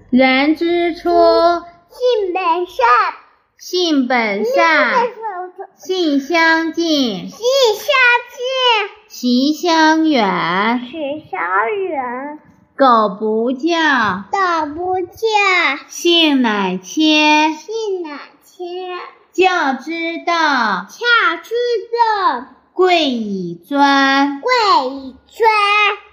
人之初， 性本善， 性本善，性相近， 性相习相远。 近，习相远。 苟不教， 苟不教， 性乃迁。 性乃迁。 教之道， 教之道， 贵以专。 贵以专。